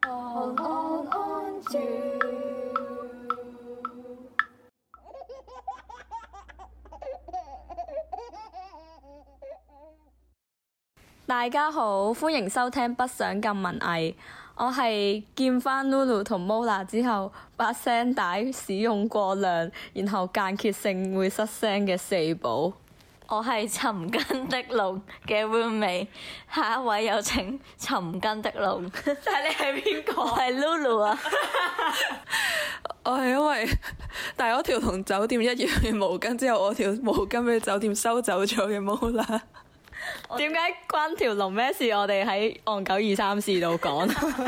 大家好，歡迎收聽不想咁文藝。我係見翻 Lulu 同 Mola 之後，把聲帶使用過量，然後間歇性會失聲嘅四寶。 我係尋根的龍嘅 roommate， 下一位有請尋根的龍。 但係你係邊個？ 我係 Lulu 啊。 我係因為帶咗條同酒店一樣嘅毛巾之後，我條毛巾俾酒店收走咗嘅 Mola。 點解關條龍咩事？我哋喺岸久234度講。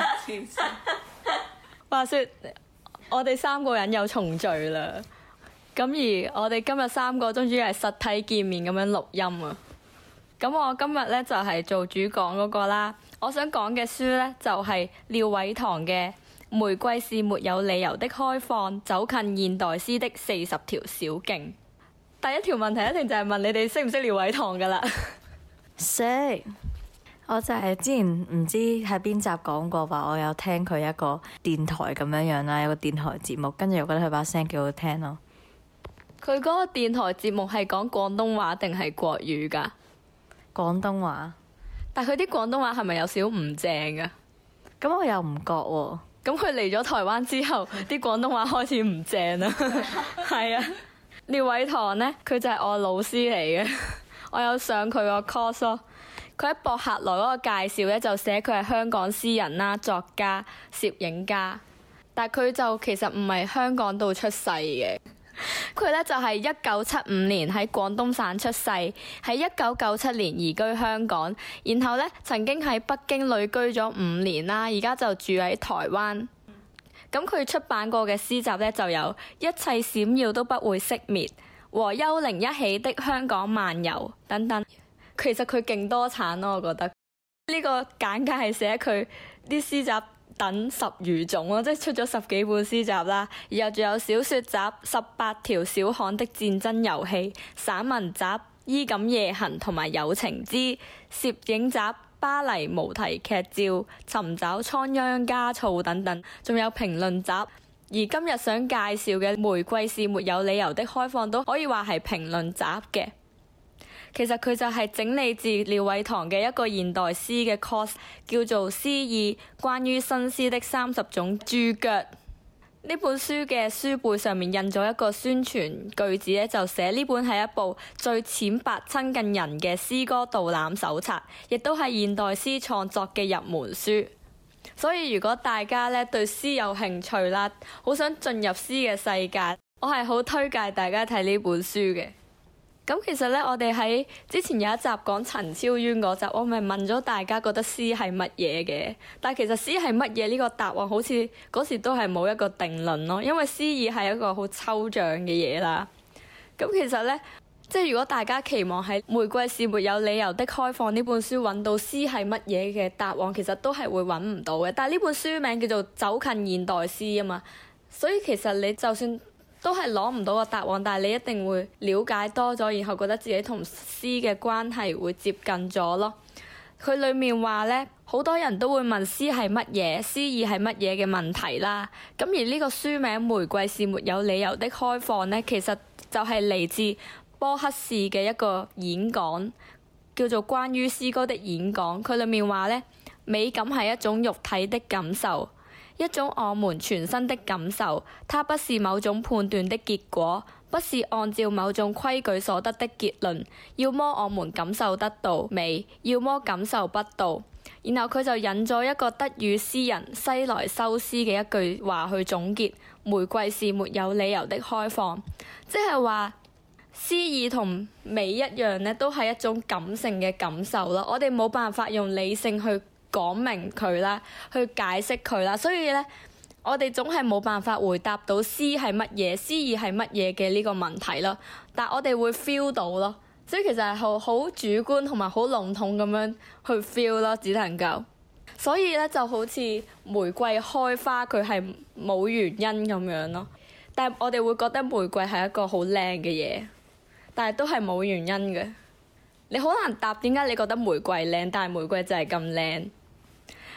話說我哋三個人又重聚啦，咁而我哋今日三個終於係實體見面咁樣錄音啊！咁我今日呢，就係做主講嗰個啦。我想講嘅書呢，就係廖偉棠嘅《玫瑰是沒有理由的開放：走近現代詩的40條小徑》。第一條問題一定就係問你哋識唔識廖偉棠噶啦？ 識，我就係之前唔知喺邊集講過話，我有聽佢一個電台咁樣樣啦，有個電台節目，跟住我覺得佢把聲幾好聽咯。 佢嗰個電台節目係講廣東話定係國語噶？ 廣東話。 但佢啲廣東話係咪有少唔正噶？ 咁我又唔覺喎。 咁佢嚟咗台灣之後，啲廣東話開始唔正啦。係啊，廖偉棠呢，佢就係我老師嚟嘅。我有上佢個 course 咯，佢喺博客來嗰個介紹咧就寫佢係香港詩人啦、作家、攝影家，但佢就其實唔係香港度出世嘅。佢咧就係1975年喺廣東省出世，喺1997年移居香港，然後咧曾經喺北京旅居咗5年啦，而家就住喺台灣。咁佢出版過嘅詩集咧就有一切閃耀都不會熄滅和幽靈一起的香港漫遊等等。其實佢勁多產咯，我覺得呢個簡介係寫佢啲詩集等10餘種咯，即係出咗10幾本詩集啦。然後仲有小說集18條小巷的戰爭遊戲、散文集衣錦夜行同埋友情之攝影集巴黎無題劇照尋找倉央嘉措等等，仲有評論集。而今日想介紹嘅《玫瑰是沒有理由的開放》都可以話係評論集嘅。其實佢就係整理自廖偉棠嘅一個現代詩嘅 course， 叫做《詩意：關於新詩的30種註腳》。呢本書嘅書背上面印咗一個宣傳句子咧，就寫呢本係一部最淺白親近人嘅詩歌導覽手冊，亦都係現代詩創作嘅入門書。所以如果大家咧對詩有興趣啦，好想進入詩嘅世界，我係好推介大家睇呢本書嘅。咁其實咧，我哋喺之前有一集講陳昭淵嗰集，我咪問咗大家覺得詩係乜嘢嘅。但係其實詩係乜嘢呢個答案，好似嗰時都係冇一個定論咯，因為詩意係一個好抽象嘅嘢啦。咁其實咧，即係如果大家期望喺《玫瑰是沒有理由的開放》呢本書揾到詩係乜嘢嘅答案，其實都係會揾唔到嘅。但係呢本書名叫做《走近現代詩》啊嘛，所以其實你就算都係攞唔到個答案，但係你一定會了解多咗，然後覺得自己同詩嘅關係會接近咗咯。佢裡面話呢，好多人都會問詩係乜嘢、詩意係乜嘢嘅問題啦。咁而呢個書名《玫瑰是沒有理由的開放》呢，其實就係嚟自波克士嘅一個演講，叫做關於詩歌的演講。佢裡面話呢，美感係一種肉體的感受，一種我們全身的感受，它不是某種判斷的結果，不是按照某種規矩所得的結論。要麼我們感受得到美，要麼感受不到。然後佢就引咗一個德語詩人西萊修斯嘅一句話去總結：玫瑰是沒有理由的開放，即係話詩意同美一樣呢，都係一種感性嘅感受咯。我哋冇辦法用理性去講明佢啦，去解釋佢啦，所以咧，我哋總係冇辦法回答到詩係乜嘢、詩意係乜嘢嘅呢個問題咯。但我哋會 feel 到咯，所以其實係好主觀同埋好籠統咁樣去 feel 咯，只能夠。所以咧就好似玫瑰開花，佢係冇原因咁樣咯。但係我哋會覺得玫瑰係一個好靚嘅嘢，但係都係冇原因嘅。你好難答點解你覺得玫瑰靚，但係玫瑰就係咁靚。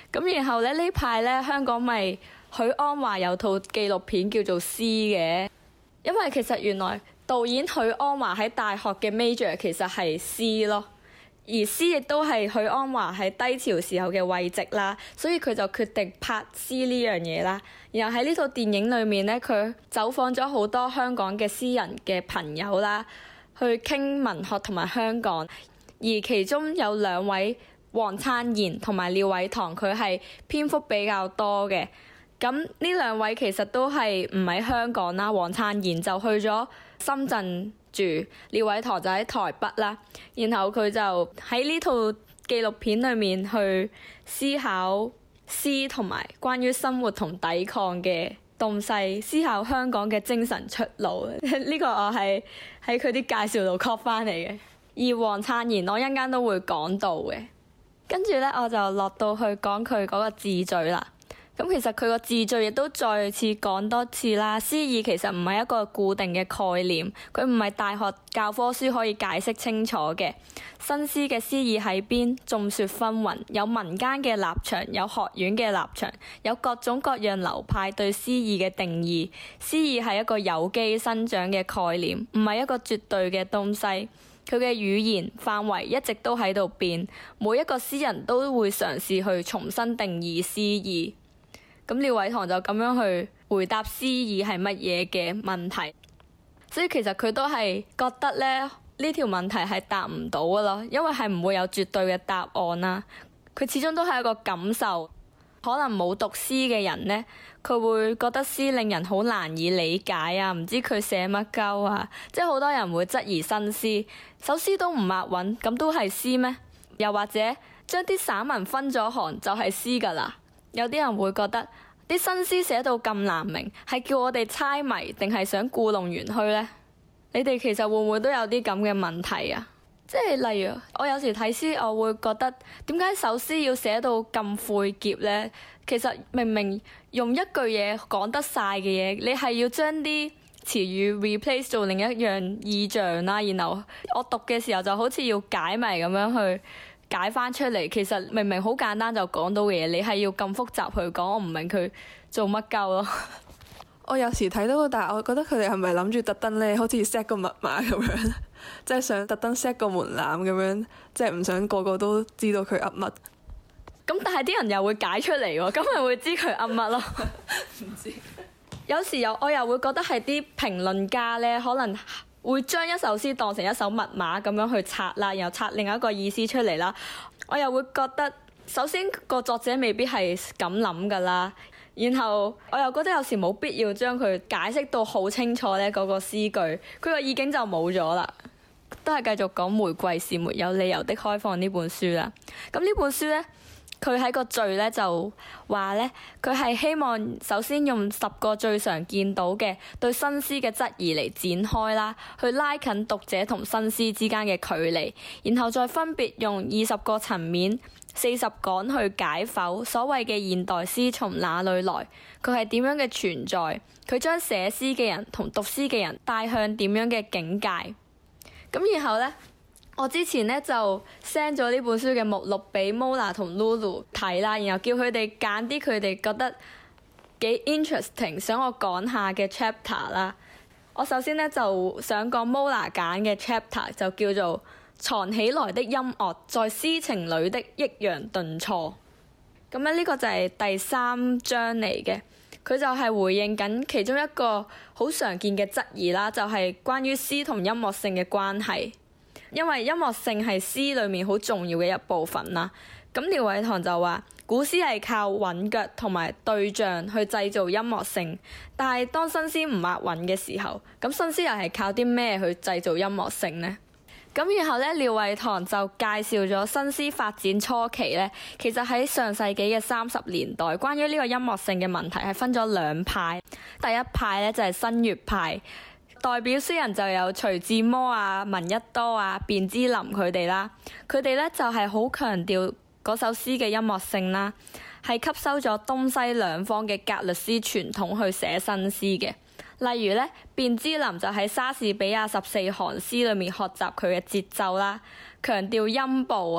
咁然後咧呢排咧香港咪許鞍華有套紀錄片叫做《詩》嘅，因為其實原來導演許鞍華喺大學嘅 major 其實係詩咯。而詩亦都係許鞍華喺低潮時候嘅慰藉啦，所以佢就決定拍詩呢樣嘢啦。然後喺呢套電影裏面咧，佢走訪咗好多香港嘅詩人嘅朋友啦，去傾文學同埋香港。而其中有兩位黃燦賢同埋廖偉棠，佢係篇幅比較多嘅。咁呢兩位其實都係唔喺香港啦，黃燦賢就去咗深圳住，廖偉棠就喺台北啦。然後佢就喺呢套紀錄片裏面去思考詩同埋關於生活同抵抗嘅東西，思考香港嘅精神出路。呢個我係喺佢啲介紹度 copy 翻嚟嘅。而黃燦賢我一陣間都會講到嘅。跟住咧，我就落到去講佢嗰個字序啦。咁其實佢個字序亦都再次講多次啦。詩意其實唔係一個固定嘅概念，佢唔係大學教科書可以解釋清楚嘅。新詩嘅詩意喺邊？眾說紛紜，有民間嘅立場，有學院嘅立場，有各種各樣流派對詩意嘅定義。詩意係一個有機生長嘅概念，唔係一個絕對嘅東西。佢嘅語言範圍一直都喺度變，每一個詩人都會嘗試去重新定義詩意。咁廖偉棠就咁樣去回答詩意係乜嘢嘅問題，所以其實佢都係覺得咧呢條問題係答唔到㗎咯，因為係唔會有絕對嘅答案啦。佢始終都係一個感受，可能冇讀詩嘅人呢，佢會覺得詩令人好難以理解啊，唔知佢寫乜鳩啊，即係好多人會質疑新詩，首詩都唔押韻，咁都係詩咩？又或者將啲散文分咗行就係詩㗎啦？有啲人會覺得啲新詩寫到咁難明，係叫我哋猜謎定係想故弄玄虛呢？你哋其實會唔會都有啲咁嘅問題啊？即係例如我有時睇詩，我會覺得點解首詩要寫到咁晦澀呢？其實明明用一句嘢講得晒嘅嘢，你係要將啲詞語 replace 做另一樣意象啦。然後我讀嘅時候就好似要解謎咁樣去解翻出嚟，其實明明好簡單就講到嘅嘢，你係要咁複雜去講，我唔明佢做乜鳩咯。 我有時睇到，但係我覺得佢哋係咪諗住特登咧，好似 set 個密碼咁樣，即係想特登 set 個門檻咁樣，即係唔想個個都知道佢噏乜。 咁但係啲人又會解出嚟喎，咁咪會知佢噏乜咯？唔知。有時我又會覺得係啲評論家咧，可能會將一首詩當成一首密碼咁樣去拆啦，然後拆另一個意思出嚟啦。我又會覺得，首先個作者未必係咁諗㗎啦，然後我又覺得有時冇必要將佢解釋到好清楚咧，嗰個詩句佢個意境就冇咗啦。都係繼續講《玫瑰是沒有理由的開放》呢本書啦。咁呢本書咧，佢喺個序咧就話咧，佢係希望首先用10個最常見到嘅對新詩嘅質疑嚟展開啦，去拉近讀者同新詩之間嘅距離，然後再分別用20個層面、40講去解剖所謂嘅現代詩從哪裡來，佢係點樣嘅存在，佢將寫詩嘅人同讀詩嘅人帶向點樣嘅境界。咁然後呢，我之前呢就 send 咗呢本書嘅目錄俾 Mola 同 Lulu 睇啦，然後叫佢哋揀啲佢哋覺得幾 interesting 想我講下嘅 chapter 啦。我首先呢就想講 Mola 揀嘅 chapter 就叫做藏起來的音樂在詩情裡的抑揚頓挫。咁咧呢個就係第3章嚟嘅，佢就係回應緊其中一個好常見嘅質疑啦，就係關於詩同音樂性嘅關係。因為音樂性係詩裡面好重要嘅一部分啦。咁廖偉棠就話，古詩係靠韻腳同埋對象去製造音樂性，但係當新詩唔押韻嘅時候，咁新詩又係靠啲咩去製造音樂性呢？咁然後咧，廖偉棠就介紹咗新詩發展初期咧，其實喺上世紀嘅30年代，關於呢個音樂性嘅問題係分咗2派。第一派咧就係新月派。代表詩人就有徐志摩啊、聞一多啊、卞之琳佢哋啦，佢哋咧就係好強調嗰首詩嘅音樂性啦，係吸收咗東西兩方嘅格律詩傳統去寫新詩嘅。例如咧，卞之琳就喺莎士比亞14行詩裏面學習佢嘅節奏啦，強調音部啊，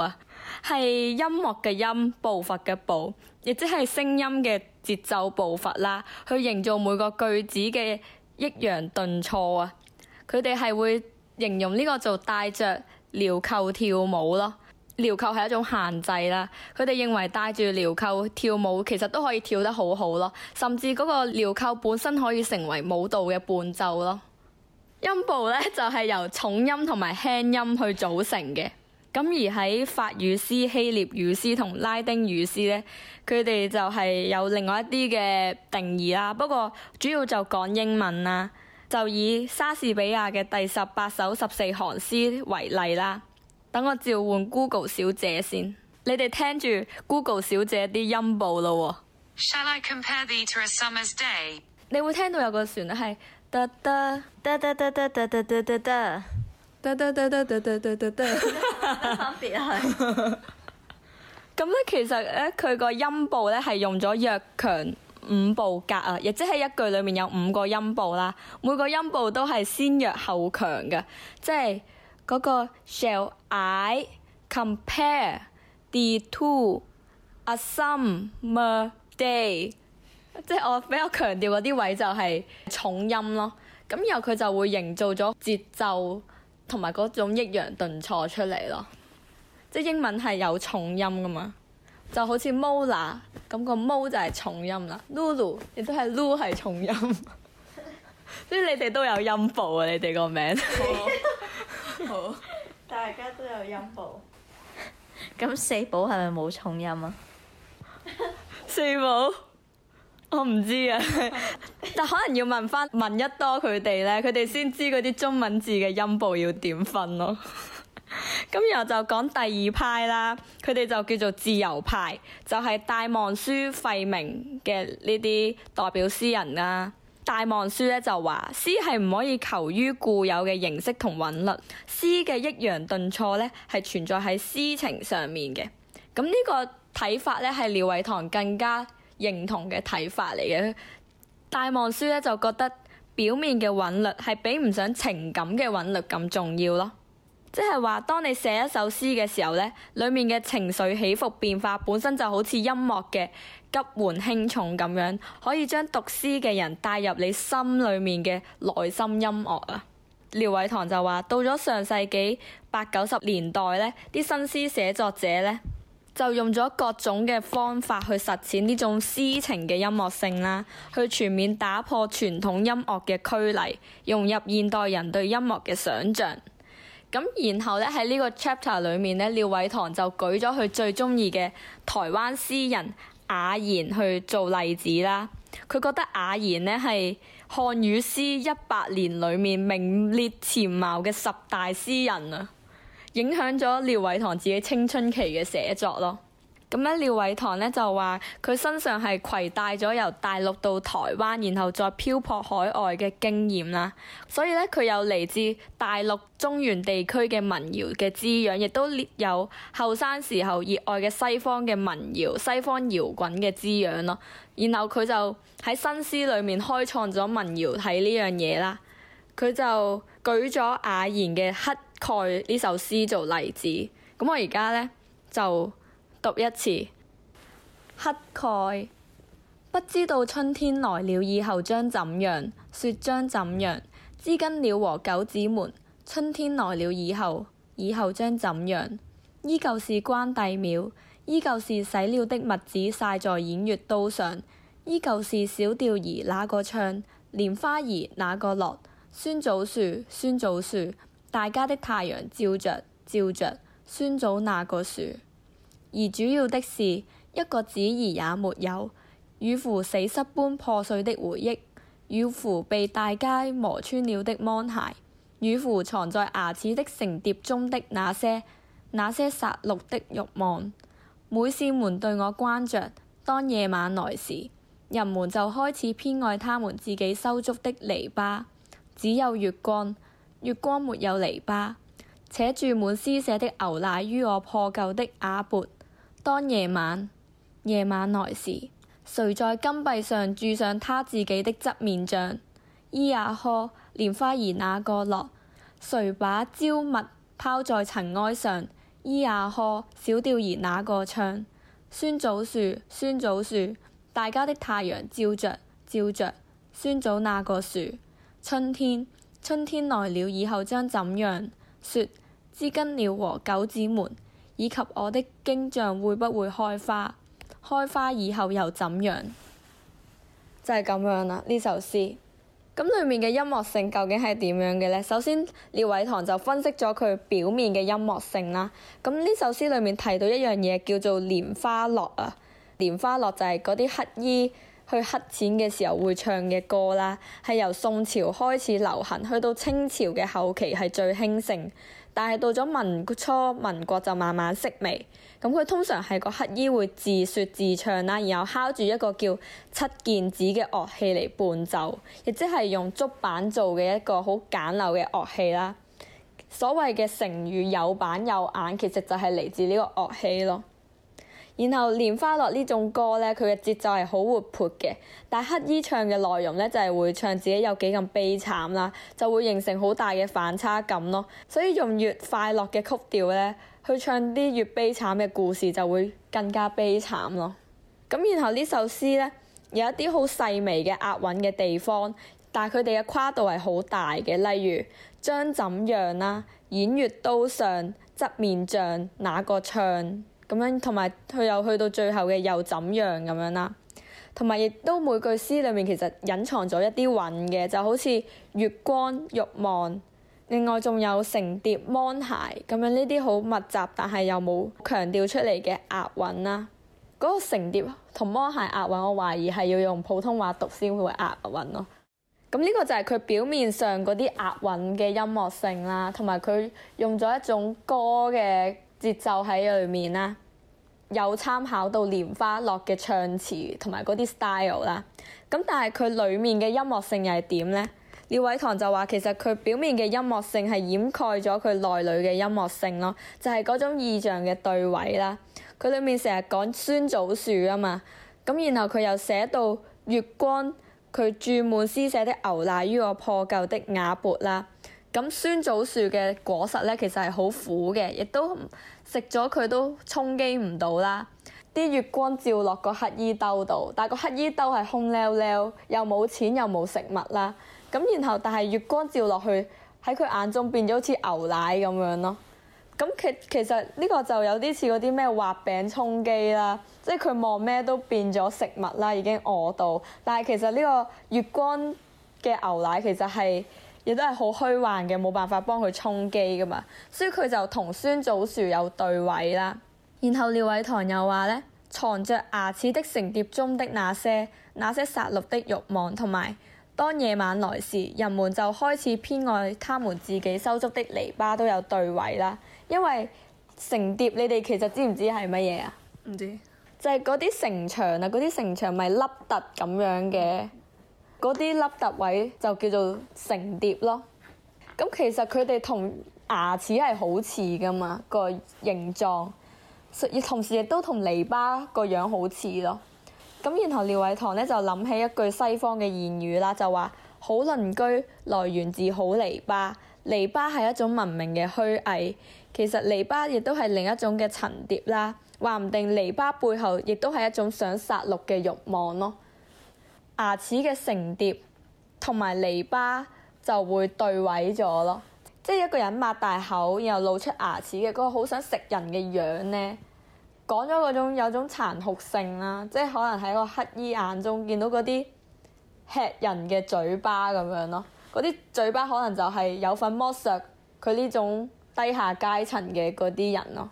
係音樂嘅音，步伐嘅步，亦即係聲音嘅節奏步伐啦，去營造每個句子嘅抑揚頓挫啊。佢哋係會形容呢個做帶着鐐扣跳舞咯。鐐扣係一種限制啦，佢哋認為帶住鐐扣跳舞其實都可以跳得好好咯，甚至嗰個鐐扣本身可以成為舞蹈嘅伴奏咯。音部咧就係由重音同埋輕音去組成嘅。咁而喺法語詩、希臘語詩同拉丁語詩咧，佢哋就係有另外一啲嘅定義啦。不過主要就講英文啦，就以莎士比亞嘅第18首14行詩為例啦。等我召喚 Google 小姐先，你哋聽住 Google 小姐啲音部咯喎。 Shall I compare thee to a summer's day？ 你會聽到有個旋律係得得得得得得得得得得得。 得得得得得得得得得， 分別係咁咧，其實咧佢個音部咧係用咗弱強5部格啊，亦即係一句裡面有5個音部啦，每個音部都係先弱後強嘅，即係嗰個 Shall I compare thee to a summer day？ 即係我比較強調嗰啲位就係重音咯，咁然後佢就會營造咗節奏同埋嗰種抑揚頓挫出嚟咯，即係英文係有重音噶嘛，就好似 Mola 咁個 Mo 就係重音啦，Lulu 亦都係 Lu 係重音，所以你哋都有音部啊！你哋個名好，大家都有音部。咁四寶係咪冇重音啊？ 四寶我唔知啊，但可能要問一多佢哋咧，佢哋先知嗰啲中文字嘅音部要點分咯。咁然後就講第二派啦，佢哋就叫做自由派，就係戴望舒、費明嘅呢啲代表詩人啦。戴望舒咧就話詩係唔可以求於固有嘅形式同韻律，詩嘅抑揚頓挫咧係存在喺詩情上面嘅。咁呢個睇法咧係廖偉棠更加認同嘅睇法嚟嘅。戴望舒咧就覺得表面嘅韻律係比唔上情感嘅韻律咁重要咯，即係話當你寫一首詩嘅時候咧，裡面嘅情緒起伏變化本身就好似音樂嘅急緩輕重咁樣，可以將讀詩嘅人帶入你心裡面嘅內心音樂啊。廖偉棠就話到咗上世紀80-90年代咧，啲新詩寫作者咧就用咗各種嘅方法去實踐呢種詩情嘅音樂性啦，去全面打破傳統音樂嘅拘泥，融入現代人對音樂嘅想像。咁然後咧喺呢個 chapter 裡面咧，廖偉棠就舉咗佢最中意嘅台灣詩人雅賢去做例子啦。佢覺得雅賢咧係漢語詩100年裡面名列前茅嘅10大詩人啊，影響咗廖偉棠自己青春期嘅寫作咯。咁咧，廖偉棠咧就話佢身上係攜帶咗由大陸到台灣，然後再漂泊海外嘅經驗啦。所以咧，佢有嚟自大陸中原地區嘅民謠嘅滋養，亦都有後生時候熱愛嘅西方嘅民謠、西方搖滾嘅滋養咯。然後佢就喺新詩裏面開創咗民謠體呢樣嘢啦。佢就舉咗雅賢嘅《乞丐》呢首詩做例子。咁我而家咧就讀一次。乞丐，不知道春天來了以後將怎樣，雪將怎樣。知更鳥和狗子們，春天來了以後將怎樣？依舊是關帝廟，依舊是洗了的麥子曬在偃月刀上，依舊是小調兒那個唱，蓮花兒那個落。酸棗樹，酸棗樹，大家的太陽照着，酸棗那個樹。而主要的是，一個子兒也沒有，與乎死屍般破碎的回憶，與乎被大街磨穿了的芒鞋，與乎藏在牙齒的成碟中的那些殺戮的慾望。每扇門對我關着，當夜晚來時，人們就開始偏愛他們自己修築的籬笆。只有月光，月光沒有籬笆，且注滿施捨的牛奶於我破舊的瓦缽。當夜晚來時，誰在金幣上鑄上他自己的側面像？咿呀呵，蓮花兒那個落？誰把蕉蜜拋在塵埃上？ 咿呀呵，小調兒那個唱。酸棗樹，酸棗樹，大家的太陽照着，照着。酸棗那個樹。春天，春天來了以後將怎樣？說，知更鳥和狗子們，以及我的荊橡會不會開花？開花以後又怎樣？就係咁樣啦，呢首詩。咁裡面嘅音樂性究竟係點樣嘅呢？首先，廖偉棠就分析咗佢表面嘅音樂性啦。咁呢首詩裡面提到一樣嘢叫做蓮花落啊。蓮花落就係嗰啲乞衣去乞錢嘅時候會唱嘅歌啦，係由宋朝開始流行，去到清朝嘅後期係最興盛。但係到咗民初民國就慢慢式微，咁佢通常係個乞衣會自説自唱啦，然後敲住一個叫七件子嘅樂器嚟伴奏，亦即係用竹板做嘅一個好簡陋嘅樂器啦。所謂嘅成語有板有眼，其實就係嚟自呢個樂器咯。然後蓮花落呢種歌咧，佢嘅節奏係好活潑嘅，但係乞衣唱嘅內容咧就係會唱自己有幾咁悲慘啦，就會形成好大嘅反差感咯。所以用越快樂嘅曲調咧，去唱啲越悲慘嘅故事就會更加悲慘咯。咁然後呢首詩咧有一啲好細微嘅押韻嘅地方，但係佢哋嘅跨度係好大嘅，例如將怎樣啦，偃月刀上側面像那個唱。咁樣，同埋佢又去到最後嘅又怎樣咁樣啦，同埋亦都每句詩裡面其實隱藏咗一啲韻嘅，就好似月光、慾望，另外仲有成蝶、芒鞋咁樣呢啲好密集但係又冇強調出嚟嘅押韻啦。嗰個成蝶同芒鞋押韻，我懷疑係要用普通話讀先會押韻咯。咁呢個就係佢表面上嗰啲押韻嘅音樂性啦，同埋佢用咗一種歌嘅節奏喺裏面啦，有參考到蓮花落嘅唱詞同埋嗰啲 style 啦。咁但係佢裡面嘅音樂性又係點呢？廖偉棠就話其實佢表面嘅音樂性係掩蓋咗佢內裏嘅音樂性咯，就係嗰種意象嘅對位啦。佢裡面成日講酸棗樹啊嘛，咁然後佢又寫到月光，佢注滿施捨的牛奶於我破舊的瓦缽啦。咁酸棗樹嘅果實咧，其實係好苦嘅，亦都食咗佢都充飢唔到啦。啲月光照落個乞衣兜度，但係個乞衣兜係空溜溜，又冇錢又冇食物啦。咁然後但係月光照落去喺佢眼中變咗好似牛奶咁樣咯。咁其實呢個就有啲似嗰啲咩畫餅充飢啦，即係佢望咩都變咗食物啦，已經餓到。但係其實呢個月光嘅牛奶其實係亦都係好虛幻嘅，冇辦法幫佢充飢噶嘛，所以佢就同酸棗樹有對位啦。然後廖偉棠又話咧，藏着牙齒的成碟中的那些殺戮的慾望，同埋當夜晚來時，人們就開始偏愛他們自己修築的籬笆都有對位啦。因為成碟你哋其實知唔知係乜嘢啊？ 唔知就係嗰啲城牆啊，嗰啲城牆咪凹凸咁樣嘅。嗰啲凹凸位就叫做成碟咯。咁其實佢哋同牙齒係好似噶嘛，個形狀，同時亦都同籬笆個樣好似咯。咁然後廖偉棠咧就諗起一句西方嘅諺語啦，就話好鄰居來源自好籬笆，籬笆係一種文明嘅虛偽，其實籬笆亦都係另一種嘅層疊啦。話唔定籬笆背後亦都係一種想殺戮嘅慾望咯。牙齒嘅成碟同埋籬笆就會對位咗咯，即係一個人擘大口然後露出牙齒嘅嗰個好想食人嘅樣咧，講咗嗰種有種殘酷性啦，即係可能喺個乞衣眼中見到嗰啲吃人嘅嘴巴咁樣咯，嗰啲嘴巴可能就係有份剝削佢呢種低下階層嘅嗰啲人咯。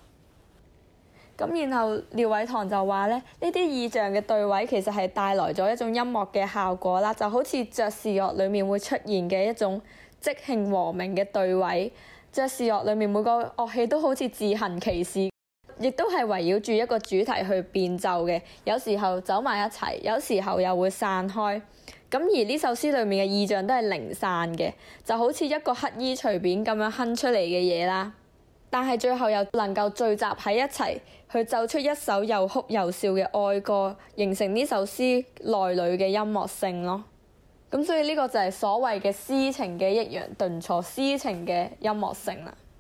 咁然後廖偉棠就話咧，呢啲意象嘅對位其實係帶來咗一種音樂嘅效果啦，就好似爵士樂裡面會出現嘅一種即興和鳴嘅對位。爵士樂裡面每個樂器都好似自行其事，亦都係圍繞住一個主題去變奏嘅，有時候走埋一齊，有時候又會散開。咁而呢首詩裡面嘅意象都係零散嘅，就好似一個乞衣隨便咁樣哼出嚟嘅嘢啦。但係最後又能夠聚集喺一齊，去奏出一首又哭又笑嘅哀歌，形成呢首詩內裏嘅音樂性咯。咁所以呢個就係所謂嘅詩情嘅抑揚頓挫，詩情嘅音樂性啦。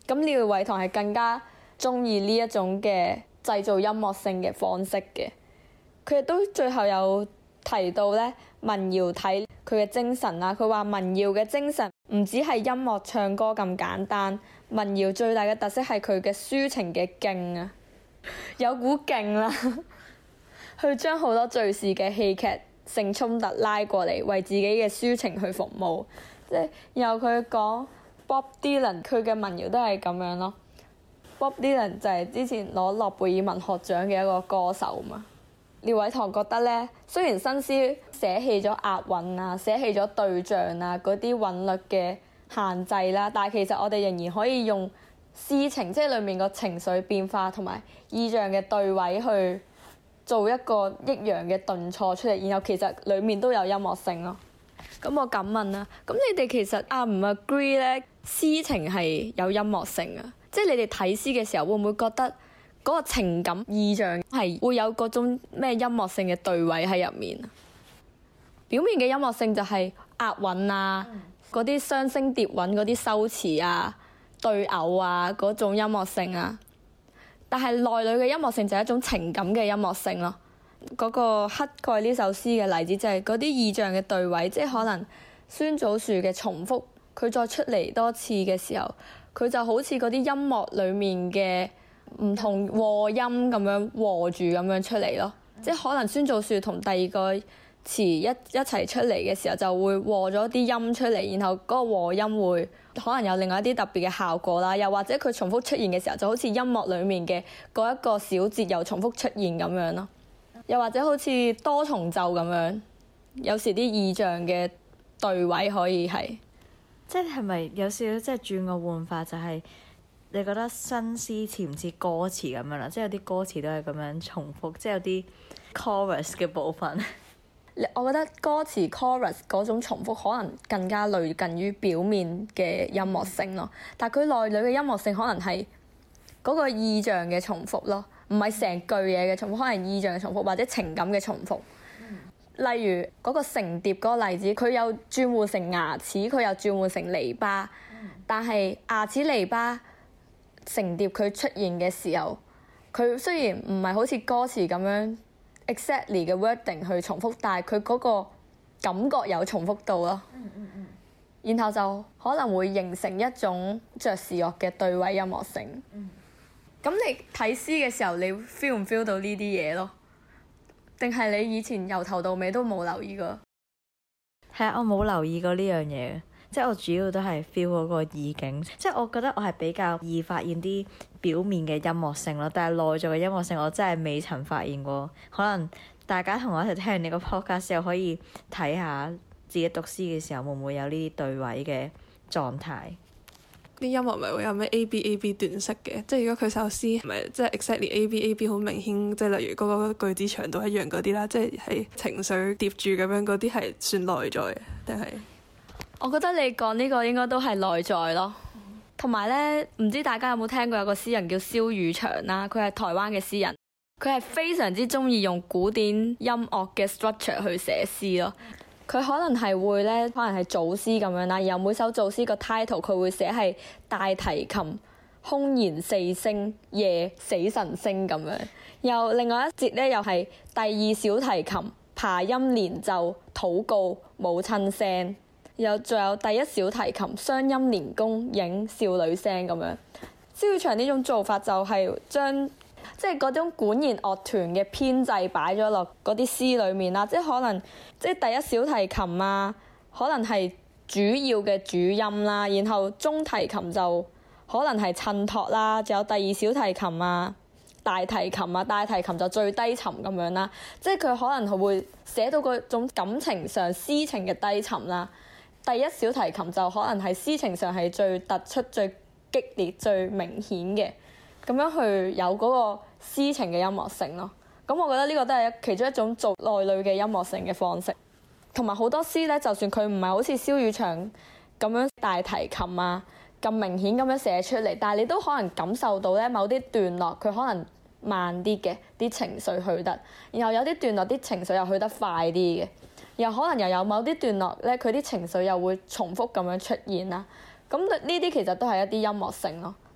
咁廖偉棠係更加中意呢一種嘅製造音樂性嘅方式嘅。佢亦都最後有提到咧民謠體佢嘅精神啦。佢話民謠嘅精神唔只係音樂唱歌咁簡單，民謠最大嘅特色係佢嘅抒情嘅勁啊，有股勁啦，去將好多敘事嘅戲劇性衝突拉過嚟，為自己嘅抒情去服務。即係然後佢講 Bob Dylan 佢嘅民謠都係咁樣咯。Bob Dylan 就係之前攞諾貝爾文學獎嘅一個歌手嘛。廖偉棠覺得咧，雖然新詩捨棄咗押韻啊、捨棄咗對象啊嗰啲韻律嘅限制啦，但係其實我哋仍然可以用詩情，即係裡面個情緒變化同埋意象嘅對位去做一個抑揚嘅頓挫出嚟，然後其實裡面都有音樂性咯。咁我敢問啦，咁你哋其實唔 agree 咧？詩情係有音樂性啊，即係你哋睇詩嘅時候會唔會覺得嗰個情感意象係會有嗰種咩音樂性嘅對位喺入面啊？表面嘅音樂性就係押韻啊，嗰啲雙聲疊韻嗰啲修辭啊、對偶啊嗰種音樂性啊，但係內裏嘅音樂性就係一種情感嘅音樂性咯。嗰個乞丐呢首詩嘅例子就係嗰啲意象嘅對位，即係可能孫祖樹嘅重複，佢再出嚟多次嘅時候，佢就好似嗰啲音樂裡面嘅唔同和音咁樣和住咁樣出嚟咯。即係可能孫祖樹同第二個詞一齊出嚟嘅時候，就會和咗啲音出嚟，然後嗰個和音會可能有另外一啲特別嘅效果啦。又或者佢重複出現嘅時候，就好似音樂裡面嘅嗰一個小節又重複出現咁樣咯。又或者好似多重奏咁樣，有時啲意象嘅對位可以係， 即係咪有少少即係轉個換法，就係你覺得新詩似唔似歌詞咁樣啦？即係有啲歌詞都係咁樣重複，即係有啲 chorus 嘅部分。 我覺得歌詞 chorus 嗰種重複可能更加類近於表面嘅音樂性咯，但係佢內裏嘅音樂性可能係嗰個意象嘅重複咯。唔係成句嘢嘅重複，可能意象嘅重複或者情感嘅重複。例如嗰個成蝶嗰個例子，佢有轉換成牙齒，佢又轉換成籬笆。但係牙齒籬笆成蝶佢出現嘅時候，佢雖然唔係好似歌詞咁樣 exactly 嘅 wording 去重複，但係佢嗰個感覺有重複到咯。然後就可能會形成一種爵士樂嘅對位音樂性。咁你睇詩嘅時候，你 feel 唔 feel 到呢啲嘢咯？定係你以前由頭到尾都冇留意過？ 係啊，我冇留意過呢樣嘢，即係我主要都係 feel 嗰個意境。即係我覺得我係比較易發現啲表面嘅音樂性咯，但係內在嘅音樂性我真係未曾發現過。可能大家同我一齊聽完你個 podcast 又可以睇下自己讀詩嘅時候會唔會有呢啲對位嘅狀態。 啲音樂咪會有咩 A B A B 段式嘅，即係如果佢首詩咪即係 exactly A B A B 好明顯，即係例如嗰個句子長度一樣嗰啲啦，即係情緒疊住咁樣嗰啲係算內在嘅，定係？ 我覺得你講呢個應該都係內在咯。同埋咧，唔知大家有冇聽過有個詩人叫蕭汝祥啦，佢係台灣嘅詩人，佢係非常之中意用古典音樂嘅 structure 去寫詩咯。佢可能係會咧，可能係組詩咁樣啦，然後每首組詩個 title 佢會寫係大提琴空弦四聲夜死神聲咁樣，又另外一節咧又係第二小提琴琶音連奏禱告母親聲，又仲有第一小提琴雙音連弓影少女聲咁樣。蕭汝祥呢種做法就係將即係嗰種管弦樂團嘅編制擺咗落嗰啲詩裡面啦，即係可能即係第一小提琴啊，可能係主要嘅主音啦，然後中提琴就可能係襯托啦，仲有第二小提琴啊、大提琴啊，大提琴就最低沉咁樣啦，即係佢可能會寫到嗰種感情上詩情嘅低沉啦。第一小提琴就可能係詩情上係最突出、最激烈、最明顯嘅。咁樣去有嗰個詩情嘅音樂性咯，咁我覺得呢個都係其中一種做內裏嘅音樂性嘅方式。同埋好多詩咧，就算佢唔係好似蕭汝祥咁樣大提琴啊咁明顯咁樣寫出嚟，但係你都可能感受到咧某啲段落佢可能慢啲嘅啲情緒去得，然後有啲段落啲情緒又去得快啲嘅，又可能又有某啲段落咧佢啲情緒又會重複咁樣出現啦。咁呢啲其實都係一啲音樂性咯。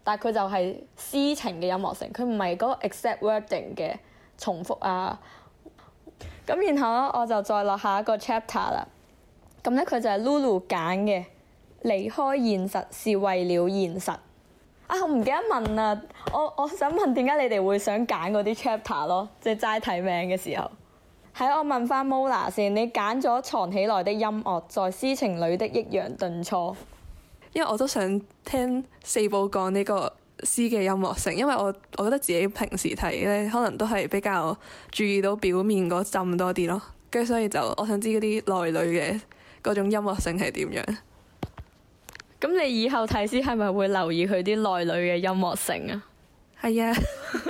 但係佢就係詩情嘅音樂性，佢唔係嗰個 exact wording 嘅重複啊。咁然後咧，我就再落下一個 chapter 啦。咁咧佢就係 Lulu 揀嘅，離開現實是為了現實。啊，我唔記得問啦，我想問點解你哋會想揀嗰啲 chapter 咯？即係齋睇名嘅時候。喺我問翻 Mola 先，你揀咗藏起來的音樂，在詩情裡的抑揚頓挫。 因為我都想聽四寶講呢個詩嘅音樂性，因為我覺得自己平時睇咧，可能都係比較注意到表面嗰陣多啲咯，跟住所以就我想知嗰啲內裏嘅嗰種音樂性係點樣。 咁你以後睇詩係咪會留意佢啲內裏嘅音樂性啊？ 係啊。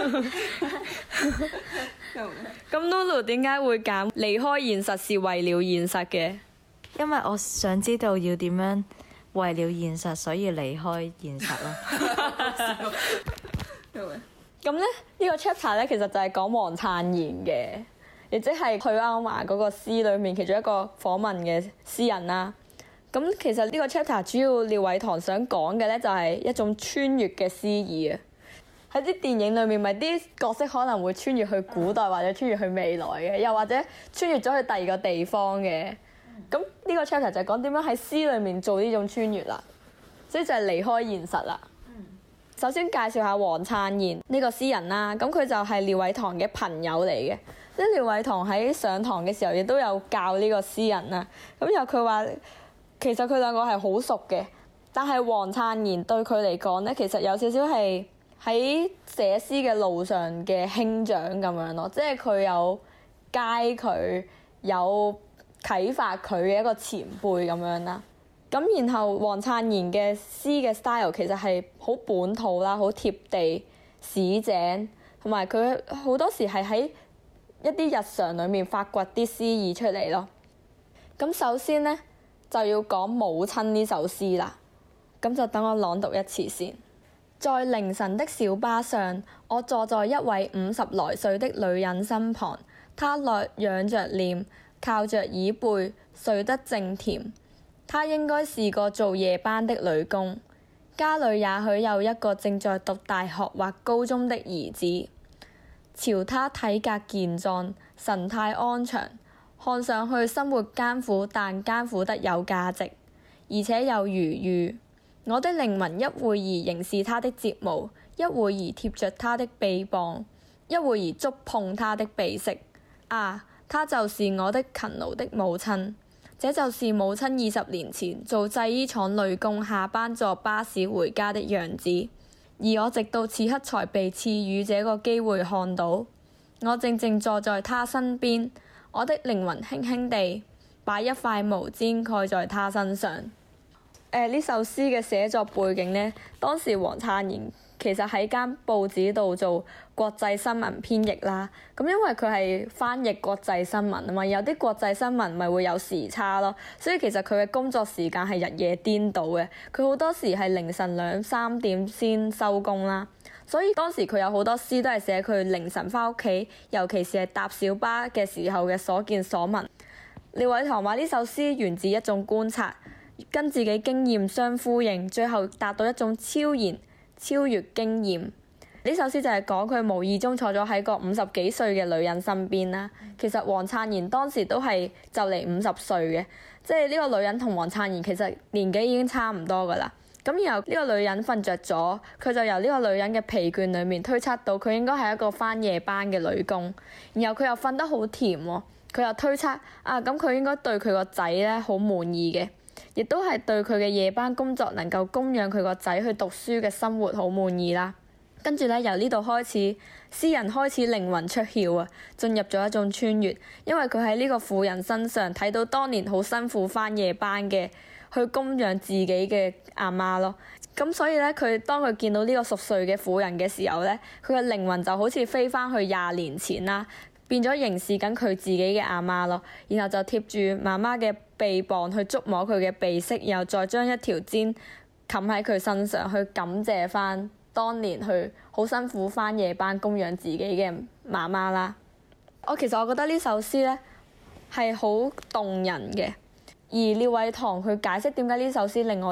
咁 Lulu 點解會揀離開現實是為了現實嘅？ 因為我想知道要點樣為了現實，所以離開現實咯。 咁咧呢個 chapter 咧，其實就係講黃燦然嘅，亦即係許鞍華嗰個詩裏面其中一個訪問嘅詩人啦。咁其實呢個 chapter 主要廖偉棠想講嘅咧，就係一種穿越嘅詩意啊。喺啲電影裏面，咪啲角色可能會穿越去古代或者穿越去未來嘅，又或者穿越咗去第二個地方嘅。咁呢個 chapter 就係講點樣喺詩裏面做呢種穿越啦，所以就係離開現實啦。首先介紹下黃燦然呢個詩人啦，咁佢就係廖偉棠嘅朋友嚟嘅，即係廖偉棠喺上堂嘅時候亦都有教呢個詩人啦。咁又佢話其實佢兩個係好熟嘅，但係黃燦然對佢嚟講咧，其實有少少係喺寫詩嘅路上嘅兄長咁樣咯，即係佢有街佢有啟發佢嘅一個前輩咁樣啦。咁然後黃燦然嘅詩嘅 style 其實係好本土啦，好貼地市井，同埋佢好多時係喺一啲日常裡面發掘啲詩意出嚟咯。咁首先咧就要講母親呢首詩啦，咁就等我朗讀一次先。在凌晨的小巴上，我坐在一位50來歲的女人身旁，她仰着臉，靠着椅背，睡得正甜。她應該是個做夜班的女工，家裡也許有一個正在讀大學或高中的兒子。瞧她體格健壯，神態安詳，看上去生活艱苦，但艱苦得有價值，而且有餘裕。我的靈魂一會兒凝視她的睫毛，一會兒貼着她的臂膀，一會兒觸碰她的鼻息。啊，她就是我的勤勞的母親。這就是母親20年前做製衣廠女工，下班坐巴士回家的樣子。而我直到此刻才被賜予這個機會看到。我靜靜坐在她身邊，我的靈魂輕輕地把一塊毛氈蓋在她身上。呢首詩嘅寫作背景呢，當時黃燦然其實喺間報紙度做國際新聞編譯啦。咁因為佢係翻譯國際新聞啊嘛，有啲國際新聞咪會有時差咯，所以其實佢嘅工作時間係日夜顛倒嘅。佢好多時係凌晨2、3點先收工啦，所以當時佢有好多詩都係寫佢凌晨翻屋企，尤其是係搭小巴嘅時候嘅所見所聞。廖偉棠話呢首詩源自一種觀察，跟自己經驗相呼應，最後達到一種超然超越經驗。呢首詩就係講佢無意中坐咗喺個50幾歲嘅女人身邊啦。其實黃燦然當時都係就嚟50歲嘅，即係呢個女人同黃燦然其實年紀已經差唔多噶啦。咁然後呢個女人瞓着咗，佢就由呢個女人嘅疲倦裡面推測到佢應該係一個返夜班嘅女工。然後佢又瞓得好甜喎，佢又推測咁佢應該對佢個仔咧好滿意嘅。亦都係對佢嘅夜班工作能夠供養佢個仔去讀書嘅生活好滿意啦。跟住咧，由呢度開始，詩人開始靈魂出竅啊，進入咗一種穿越，因為佢喺呢個婦人身上睇到當年好辛苦返夜班嘅去供養自己嘅阿媽咯。咁所以咧，當佢見到呢個熟睡嘅婦人嘅時候咧，佢嘅靈魂就好似飛返去20年前啦。變咗凝視緊佢自己嘅阿媽咯，然後就貼住媽媽嘅臂膀去觸摸佢嘅鼻息，然後再將一條氈冚喺佢身上，去感謝翻當年去好辛苦返夜班供養自己嘅媽媽啦。其實我覺得呢首詩咧係好動人嘅，而廖偉棠去解釋點解呢首詩令我哋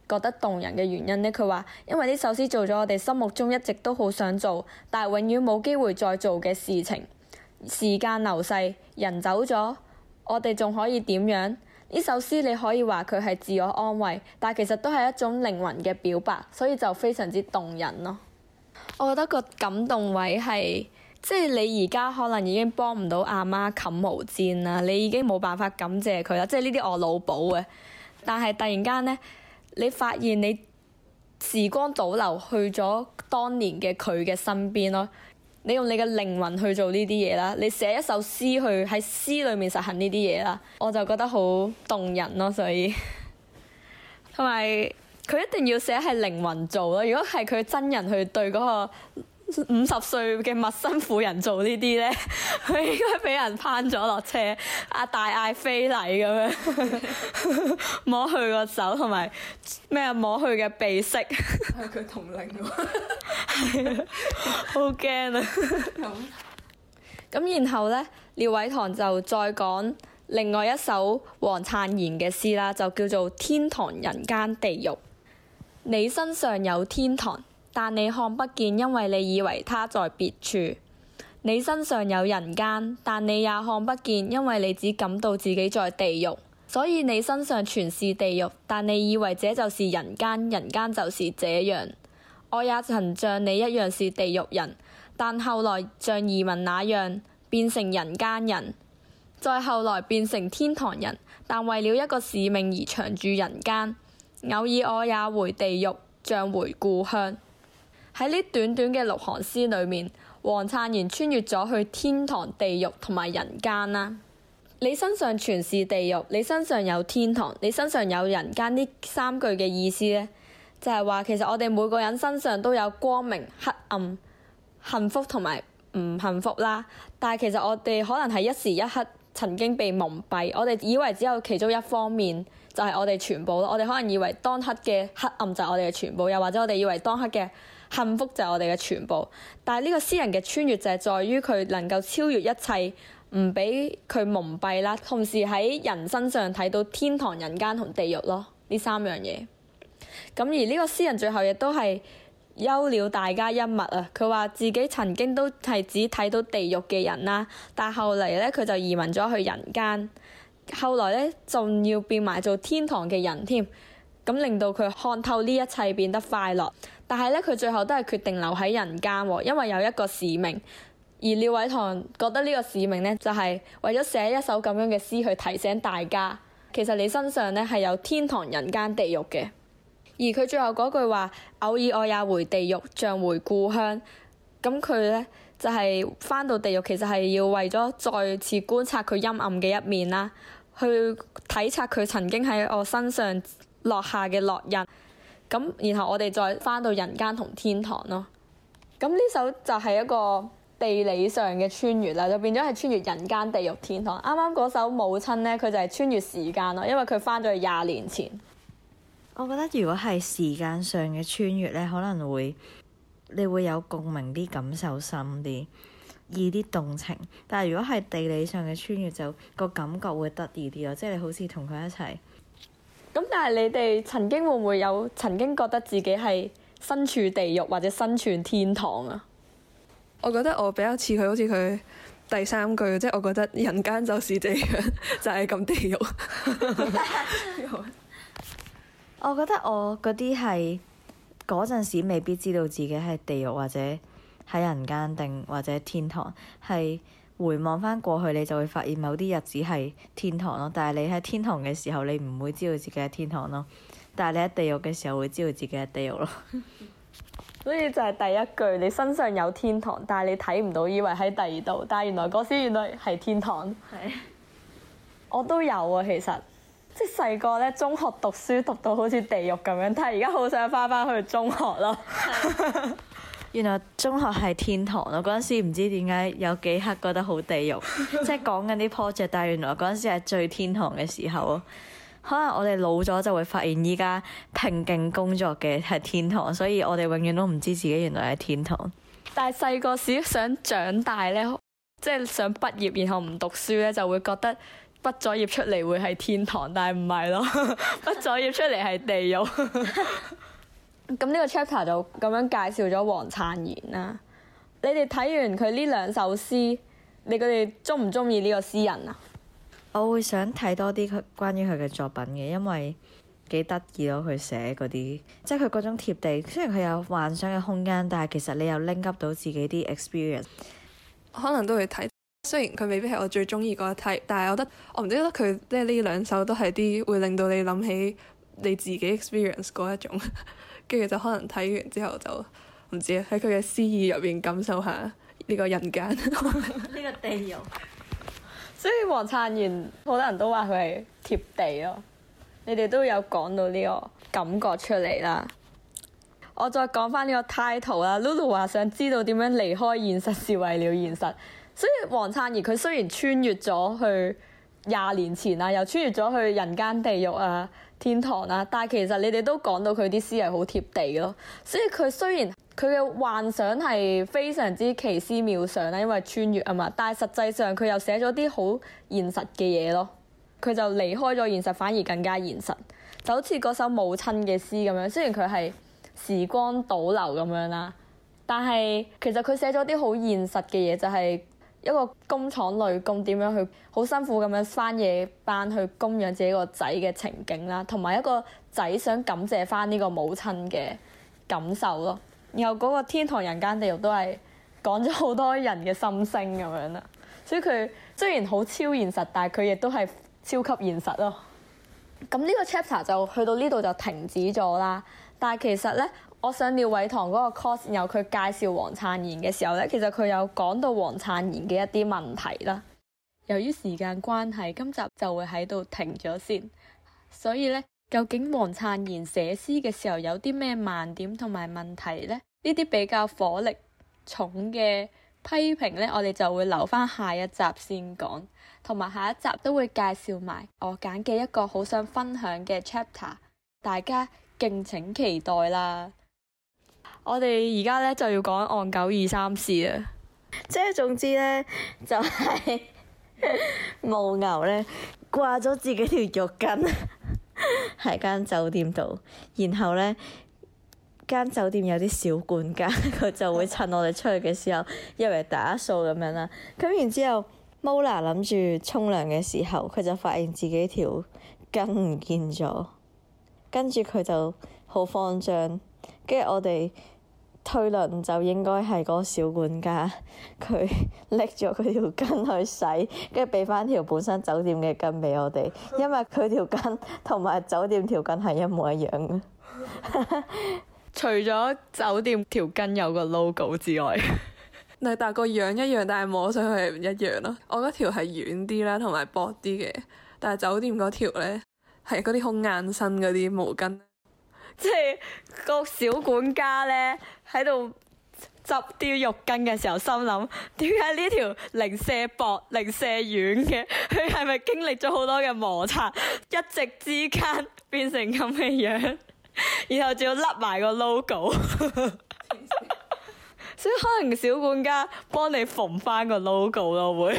覺得動人嘅原因呢？佢話因為呢首詩做咗我哋心目中一直都好想做，但係永遠冇機會再做嘅事情。時間流逝，人走咗，我哋仲可以點樣？呢首詩你可以話佢係自我安慰，但係其實都係一種靈魂嘅表白，所以就非常之動人咯。我覺得個感動位係，即係你而家可能已經幫唔到阿媽冚毛氈啦，你已經冇辦法感謝佢啦，即係呢啲我腦補嘅。但係突然間呢，你發現你時光倒流去咗當年嘅佢嘅身邊咯。你用你嘅靈魂去做呢啲嘢啦，你寫一首詩去喺詩裏面實行呢啲嘢啦，我就覺得好動人咯。所以同埋佢一定要寫係靈魂做咯。如果係佢真人去對嗰個50歲嘅陌生婦人做呢啲咧，佢應該俾人攀咗落車，大嗌非禮咁樣，摸佢個手同埋咩摸佢嘅鼻息， 係佢同齡喎， 係啊，好驚啊！咁然後咧，廖偉棠就再講另外一首黃燦然嘅詩啦，就叫做《天堂人間地獄》。你身上有天堂，但你看不見，因為你以為他在別處。你身上有人間，但你也看不見，因為你只感到自己在地獄。所以你身上全是地獄，但你以為這就是人間，人間就是這樣。我也曾像你一樣是地獄人，但後來像移民那樣變成人間人，再後來變成天堂人，但為了一個使命而長駐人間。偶爾我也回地獄，像回故鄉。喺呢短短嘅6行詩裏面，黃燦然穿越咗去天堂、地獄同埋人間啦。你身上全是地獄，你身上有天堂，你身上有人間，呢3句嘅意思呢，就係話其實我哋每個人身上都有光明、黑暗、幸福同埋唔幸福啦。但係其實我哋可能係一時一刻曾經被蒙蔽，我哋以為只有其中一方面就係我哋全部咯。我哋可能以為當刻嘅黑暗就係我哋嘅全部，又或者我哋以為當刻嘅幸福就係我哋嘅全部。但係呢個詩人嘅穿越就係在於佢能夠超越一切，唔俾佢蒙蔽啦，同時喺人身上睇到天堂、人間同地獄咯，呢3樣嘢。咁而呢個詩人最後亦都係休了大家一默啊！佢話自己曾經都係只睇到地獄嘅人啦，但係後嚟咧佢就移民咗去人間，後來咧仲要變埋做天堂嘅人添，咁令到佢看透呢一切變得快樂。但係咧佢最後都係決定留喺人間喎，因為有一個使命。而廖偉棠覺得呢個使命咧就係為咗寫一首咁樣嘅詩去提醒大家，其實你身上咧係有天堂、人間、地獄嘅。而佢最後嗰句話，偶爾我也回地獄，像回故鄉。咁佢咧就係返到地獄，其實係要為咗再次觀察佢陰暗嘅一面啦，去體察佢曾經喺我身上落下嘅烙印。咁然後我哋再返到人間同天堂咯。咁呢首就係一個地理上嘅穿越啦，就變咗係穿越人間、地獄、天堂。啱啱嗰首母親咧，佢就係穿越時間咯，因為佢返咗去20年前。 我覺得如果係時間上嘅穿越咧，可能你會有共鳴啲，感受深啲，易啲動情。但係如果係地理上嘅穿越，就個感覺會得意啲咯，即係你好似同佢一齊。 咁但係你哋曾經會唔會有曾經覺得自己係身處地獄或者身處天堂啊？ 我覺得我比較似佢，好似佢第3句，即係我覺得人間就是這樣，就係咁地獄。 我覺得我嗰啲係嗰陣時未必知道自己係地獄或者喺人間定或者天堂，係回望返過去你就會發現某啲日子係天堂咯。但係你喺天堂嘅時候，你唔會知道自己係天堂咯。但係你喺地獄嘅時候會知道自己係地獄咯。 所以就係第一句，你身上有天堂，但係你睇唔到，以為喺第2度，但係原來嗰時原來係天堂。 係。 我都有啊，其實。即係細個咧，中學讀書讀到好似地獄咁樣，但係而家好想返去中學咯。 原來中學係天堂咯！嗰陣時唔知點解有幾刻覺得好地獄，即係講緊啲 project，但係原來嗰陣時係最天堂嘅時候咯。可能我哋老咗就會發現依家拼勁工作嘅係天堂，所以我哋永遠都唔知自己原來係天堂。 但係細個時想長大咧，即係想畢業然後唔讀書咧，就會覺得畢咗業出嚟會係天堂，但係唔係咯，畢咗業出嚟係地獄。咁呢個 chapter 就咁樣介紹咗黃燦賢啦。你哋睇完佢呢兩首詩，你哋中唔中意呢個詩人啊？ 我會想睇多啲佢關於佢嘅作品嘅，因為幾得意咯。佢寫嗰啲，即係佢嗰種貼地。雖然佢有幻想嘅空間，但係其實你又拎 up 到自己啲 experience。 可能都會睇，雖然佢未必係我最中意嗰一 type，但係我覺得我唔知得佢即係呢兩首都係啲會令到你諗起你自己 experience 嗰一種，跟住就可能睇完之後就唔知喺佢嘅詩意入邊感受下呢個人間，呢個地獄。 所以黃燦賢好多人都話佢係貼地咯。你哋都有講到呢個感覺出嚟啦。我再講翻呢個 title 啦。Lulu 話想知道點樣離開現實是為了現實。所以黃燦賢佢雖然穿越咗去20年前啊，又穿越咗去人間地獄啊、天堂啊，但係其實你哋都講到佢啲詩係好貼地咯。所以佢雖然佢嘅幻想係非常之奇思妙想啦，因為穿越啊嘛，但係實際上佢又寫咗啲好現實嘅嘢咯。佢就離開咗現實，反而更加現實，就好似嗰首母親嘅詩咁樣。雖然佢係時光倒流咁樣啦，但係其實佢寫咗啲好現實嘅嘢，就係一個工廠女工點樣去好辛苦咁樣返夜班去供養自己個仔嘅情景啦，同埋一個仔想感謝返呢個母親嘅感受咯。然後嗰個天堂人間地獄都係講咗好多人嘅心聲咁樣啦。所以佢雖然好超現實，但係佢亦都係超級現實咯。咁呢個 chapter 就去到呢度就停止咗啦。但係其實咧，我上廖偉棠嗰個 course，然後佢介紹黃燦賢嘅時候咧，其實佢有講到黃燦賢嘅一啲問題啦。由於時間關係，今集就會喺度停咗先。所以咧，究竟黃燦賢寫詩嘅時候有啲咩盲點同埋問題咧？呢啲比較火力重嘅批評咧，我哋就會留翻下一集先講。同埋下一集都會介紹埋我揀嘅一個好想分享嘅 chapter， 大家敬請期待啦！我哋而家咧就要講岸久二三事啦， 即係總之咧，就係牦牛咧掛咗自己條浴巾喺間酒店度，然後咧間酒店有啲小管家，佢就會趁我哋出去嘅時候入嚟打掃咁樣啦。咁然之後，Mola 諗住沖涼嘅時候，佢就發現自己條巾唔見咗，跟住佢就好慌張。跟住我哋推論就應該係嗰個小管家，佢拎咗佢條巾去洗，跟住俾翻條本身酒店嘅巾俾我哋，因為佢條巾同埋酒店條巾係一模一樣嘅。 除咗酒店條巾有個 logo 之外。 但係個樣一樣，但係摸上去係唔一樣咯。我嗰條係軟啲啦，同埋薄啲嘅，但係酒店嗰條咧係嗰啲好硬身嗰啲毛巾。 即係個小管家咧喺度執啲浴巾嘅時候，心諗點解呢條零舍薄、零舍軟嘅？佢係咪經歷咗好多嘅摩擦，一夕之間變成咁嘅樣？然後仲要笠埋個 logo。所以可能小管家幫你縫翻個 logo 咯，會。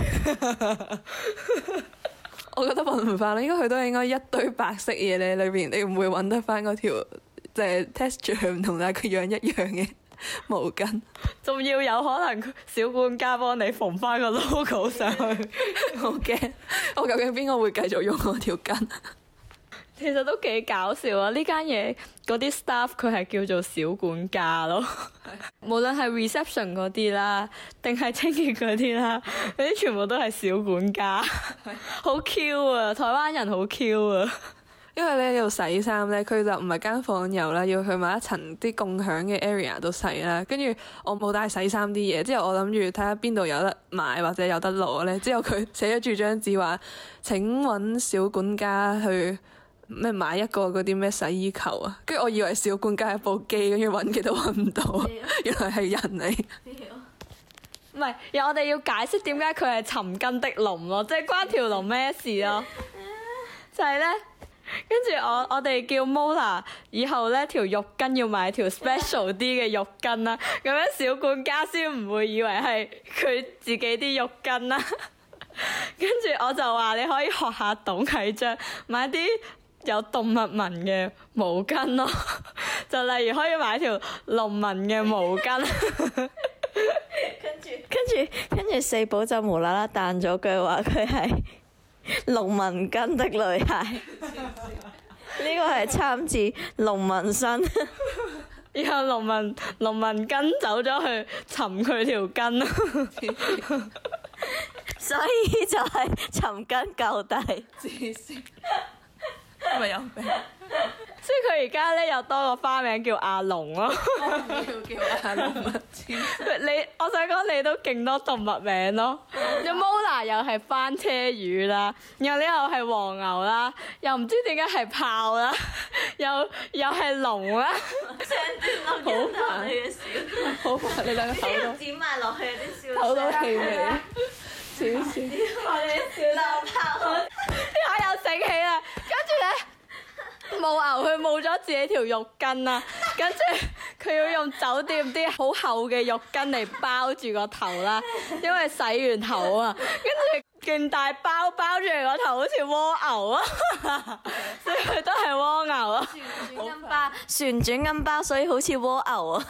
我覺得揾唔翻啦，應該佢都係應該一堆白色嘢咧，裏邊你唔會揾得翻嗰條即係 texture 唔同但係佢樣一樣嘅毛巾。 仲要有可能小管家幫你縫翻個 logo 上去。 好驚！我究竟邊個會繼續用我條巾？ 其實都幾搞笑啊！呢間嘢嗰啲 staff 佢係叫做小管家咯，無論係 reception 嗰啲啦，定係清潔嗰啲啦，嗰啲全部都係小管家，好 Q 啊！台灣人好 Q 啊！ 因為咧要洗衫咧，佢就唔係間房有啦，要去埋一層啲共享嘅 area 度洗啦。跟住我冇帶洗衫啲嘢，之後我諗住睇下邊度有得買或者有得攞咧。之後佢寫咗住張紙話：請揾小管家去。咩買一個嗰啲咩洗衣球啊？跟住我以為小管家係部機，跟住揾極都揾唔到，原來係人嚟。 唔係，我哋要解釋點解佢係尋根的龍咯，即係關條龍咩事咯？就係咧，跟住我哋叫 Mola 以後咧條浴巾要買條 special 啲嘅浴巾啦，咁樣小管家先唔會以為係佢自己啲浴巾啦。 跟住我就話你可以學下董啟章，買啲有動物紋嘅毛巾咯，就例如可以買條龍紋嘅毛巾。 跟住四寶就無啦啦彈咗句話，佢係龍紋根的女孩。呢個係參自龍紋身。 然後龍紋根走咗去尋佢條根咯。 所以就係尋根究底。 咪有病。 所以佢而家咧又多個花名叫阿龍咯。 叫阿龍啊！ 我想講你都勁多動物名咯。有 Mola 又係翻車魚啦，然後呢又係黃牛啦，又唔知點解係豹啦，又係龍啦。 好煩你嘅笑， 好煩你兩個口都剪埋落去啲笑口都氣味，少少。 我哋笑到爆。 呢下又醒起啦，跟住咧。母牛佢冇咗自己條浴巾啦，跟住佢要用酒店啲好厚嘅浴巾嚟包住個頭啦，因為洗完頭啊，跟住勁大包住嚟個頭，好似蝸牛啊，所以佢都係蝸牛啊。 旋轉金包，所以好似蝸牛啊。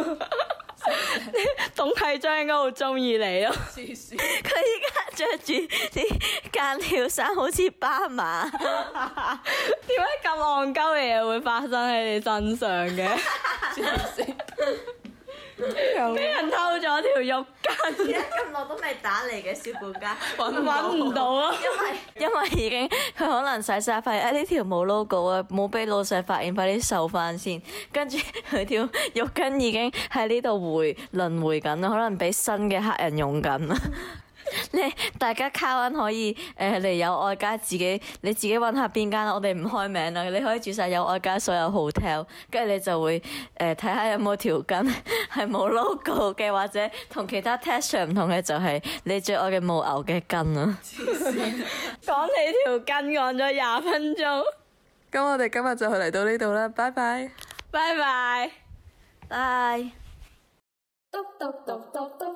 董啟章應該好中意你咯。 佢依家着住啲間條衫，好似斑馬。 點解咁戇鳩嘅嘢會發生喺你身上嘅？俾人偷咗條浴巾， 而家咁耐都未打嚟嘅小管家， 揾唔到啊！ 因為已經佢可能洗晒發現，呢條冇 logo 啊，冇俾老細發現，快啲收翻先。跟住佢條浴巾已經喺呢度輪迴緊啦，可能俾新嘅客人用緊啦。大家卡溫可以嚟友愛街你自己揾下邊間，我哋唔開名啦。你可以住晒友愛街所有 hotel， 跟住你就會睇下有冇條巾係冇 logo 嘅，或者同其他 texture 唔同嘅，就係你最愛嘅母牛嘅巾啊！ 講你條巾講咗20分鐘， 咁我哋今日就嚟到呢度啦，拜拜。 拜拜。 拜。 篤篤篤篤篤。